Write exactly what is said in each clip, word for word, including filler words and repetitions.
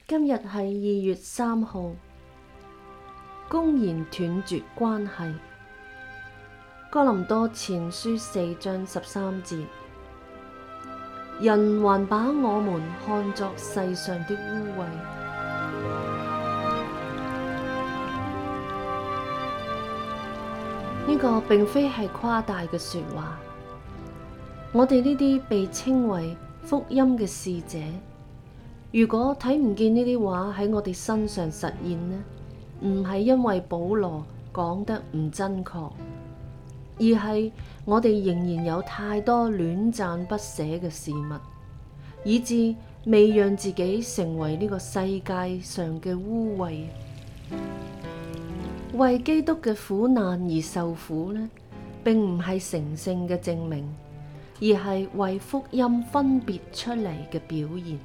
今日係二月三號，公然斷絕關係。哥林多前書四章十三節，人還把我們看作世上的污穢。呢個並非係誇大嘅說話。我哋呢啲被稱為福音嘅使者，如果睇唔見呢啲話喺我哋身上實現呢，唔係因為保羅講得唔真確，而係我哋仍然有太多戀讚不捨嘅事物，以致未讓自己成為呢個世界上嘅污穢。為基督嘅苦難而受苦呢，並唔係成聖嘅證明，而係為福音分別出嚟嘅表現。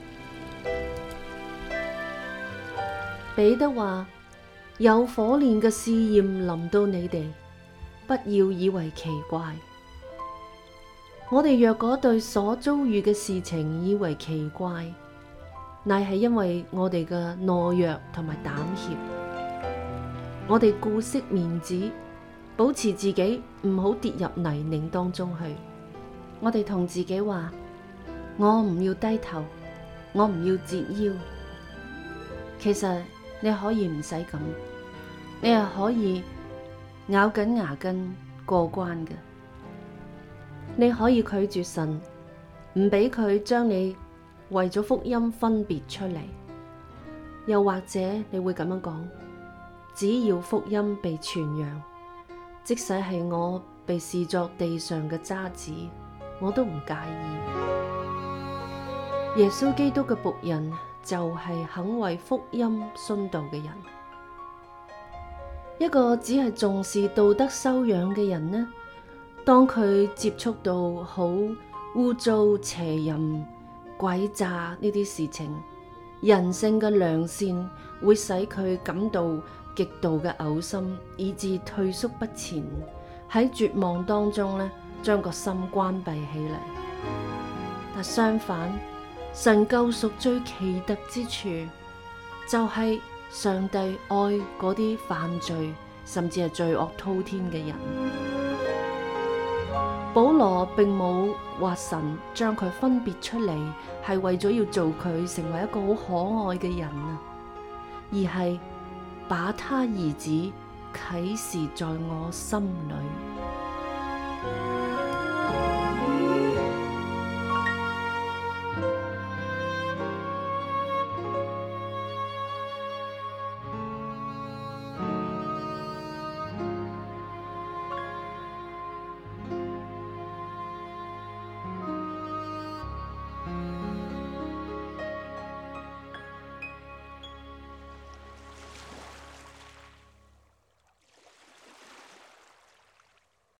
彼得話：有火煉嘅試驗臨到你哋，不要以為奇怪。我哋若果對所遭遇嘅事情以為奇怪，乃係因為我哋嘅懦弱同埋膽怯。我哋顧惜面子，保持自己唔好跌入泥濘當中去。我哋同自己話：我唔要低頭，我唔要折腰。其實你可以唔使咁，你係可以咬緊牙根過關嘅。你可以拒絕神，唔俾佢將你為咗福音分別出嚟。又或者你會咁樣講：只要福音被傳揚，即使係我被視作地上嘅渣滓，我都唔介意。耶穌基督嘅僕人就係肯為福音殉道嘅人。一個只係重視道德修養嘅人呢，當佢接觸到好污糟、邪淫、詭詐呢啲事情，人性嘅良善會使佢感到極度嘅嘔心，以致退縮不前，喺絕望當中呢，將個心關閉起嚟。但相反，神救贖最奇特之處，就係上帝愛嗰啲犯罪甚至係罪惡滔天嘅人。保羅並冇話神將佢分別出嚟，係為咗要做佢成為一個好可愛嘅人啊，而係把他兒子啟示在我心裏。